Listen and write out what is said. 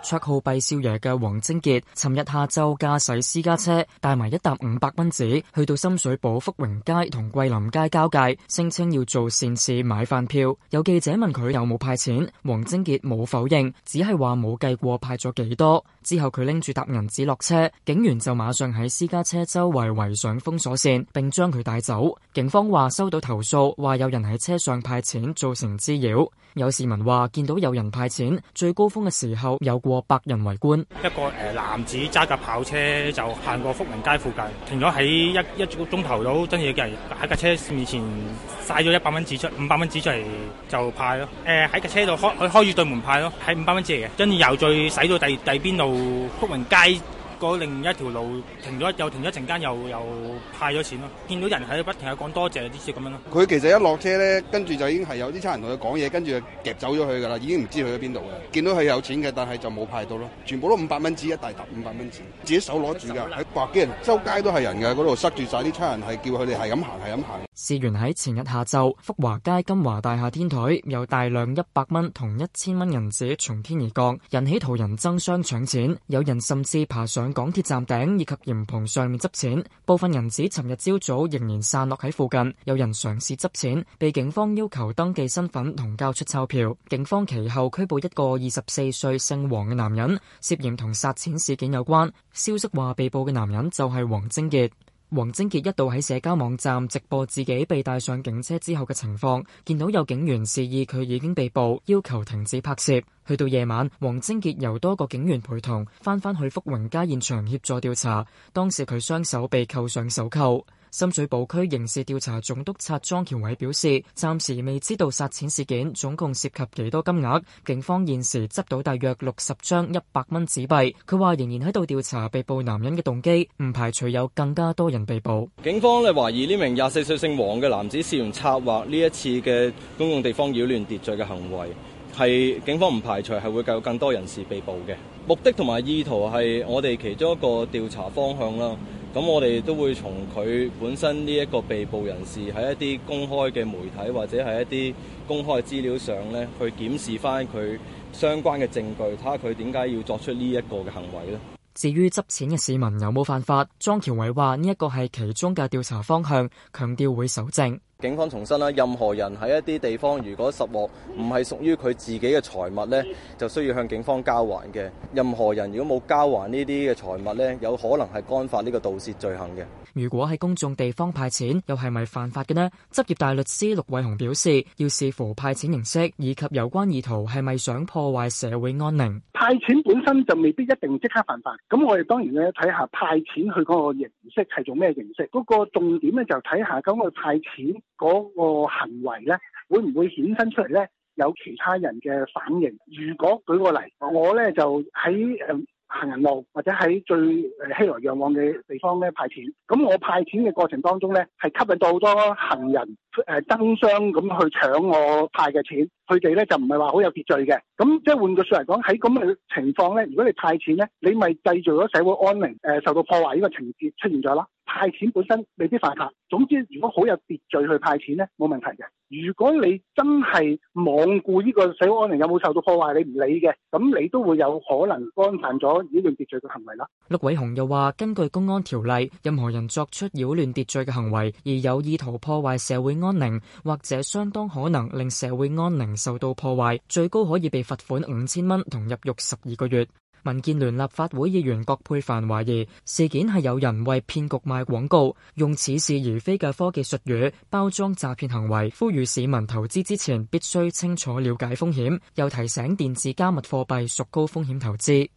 綽號畢少爺嘅黃貞傑，尋日下晝駕駛私家車帶埋一沓500蚊紙，去到深水埗福榮街同桂林街交界，聲稱要做善事買飯票。有記者問佢有冇派錢，黃貞傑冇否認，只係話冇計過派咗幾多。之後佢拎住沓銀紙落車，警員就馬上喺私家車周圍圍上封鎖線，並將佢帶走。警方話收到投訴，話有人喺車上派錢造成滋擾。有市民話見到有人派錢，最高峰嘅時候有過100人圍觀。 一個男子揸架跑車就行過福明街附近，停咗喺一個鐘頭到，跟住嘅人喺架車面前曬咗100蚊紙出500蚊紙出嚟就派咯。喺架車度開住對門派咯，係500蚊紙嚟嘅，跟住又再駛到第邊度福明街嗰另一條路停咗一陣間，又派咗錢咯。見到人喺度不停喺講多謝啲事咁樣咯。 佢其實一落車咧，跟住就已經係有啲差人同佢講嘢，跟住就夾走咗佢噶啦，已經唔知去咗邊度嘅。見到佢有錢嘅，但係就冇派到咯。全部都500蚊紙，一大沓500蚊紙，自己手攞住㗎。喺百幾人，周街都係人㗎，嗰度塞住晒啲差人，係叫佢哋係咁行。 事源喺前日下晝，福華街金華大廈天台有大量100蚊同1000蚊銀紙從天而降，引起途人爭相搶錢，有人甚至爬上港鐵站頂以及簷篷上面執錢。部分銀紙尋日朝早仍然散落喺附近，有人嘗試執錢，被警方要求登記身份同交出鈔票。警方其後拘捕一個24歲姓黃嘅男人，涉嫌同殺錢事件有關。消息話被捕嘅男人就係黃貞傑。黃貞傑一度喺社交網站直播自己被帶上警車之後嘅情況，見到有警員示意佢已經被捕，要求停止拍攝。去到夜晚，黃貞傑由多個警員陪同翻去福榮街現場協助調查，當時佢雙手被扣上手銬。深水埗區刑事調查總督察莊喬偉表示，暫時未知道殺錢事件總共涉及幾多金額，警方現時執到大約60張100蚊紙幣。佢話仍然喺度調查被捕男人嘅動機，唔排除有更加多人被捕。 警方懷疑呢名24歲姓黃嘅男子涉嫌策劃呢一次嘅公共地方擾亂秩序嘅行為，係警方唔排除係會有更多人士被捕嘅。目的同埋意圖係我哋其中一個調查方向啦。咁我哋都會從佢本身呢一個被捕人士喺一啲公開嘅媒體或者係一啲公開資料上咧，去檢視翻佢相關嘅證據，睇下佢點解要作出呢一個嘅行為咧。 至於執錢嘅市民有冇犯法，莊喬偉話呢一個係其中嘅調查方向，強調會搜證。 警方重申啦，任何人喺一啲地方如果拾獲唔係屬於佢自己嘅財物呢，就需要向警方交還嘅。任何人如果冇交還呢啲嘅財物呢，有可能係干犯呢個盜竊罪行嘅。 如果喺公眾地方派錢，又係咪犯法嘅呢？執業大律師陸偉雄表示，要視乎派錢形式以及有關意圖係咪想破壞社會安寧。 派錢本身就未必一定即刻犯法，咁我哋當然咧睇下派錢去嗰個形式係做咩形式，嗰個重點咧就睇下咁個派錢嗰個行為咧會唔會衍生出嚟咧有其他人嘅反應。如果舉個例，我咧就喺行人路或者喺最熙來攘往嘅地方咧派錢，咁我派錢嘅過程當中咧係吸引到好多行人爭相咁去搶我派嘅錢，佢哋咧就唔係話好有秩序嘅，咁即係換句說嚟講，喺咁嘅情況咧，如果你派錢咧，你咪製造咗社會安寧受到破壞呢個情節出現咗啦。派錢本身未必犯法，總之如果好有秩序去派錢咧，冇問題嘅。如果你真係罔顧呢個社會安寧有冇受到破壞，你唔理嘅，咁你都會有可能干犯咗擾亂秩序嘅行為啦。 陸偉雄又話，根據公安條例，任何人作出擾亂秩序嘅行為，而有意圖破壞社會安寧，或者相當可能令社會安寧受到破壞，最高可以被罰款5000蚊同入獄12個月。民建聯立法會議員葛珮帆懷疑事件係有人為騙局賣廣告，用似是而非嘅科技術語包裝詐騙行為，呼籲市民投資之前必須清楚了解風險，又提醒電子加密貨幣屬高風險投資。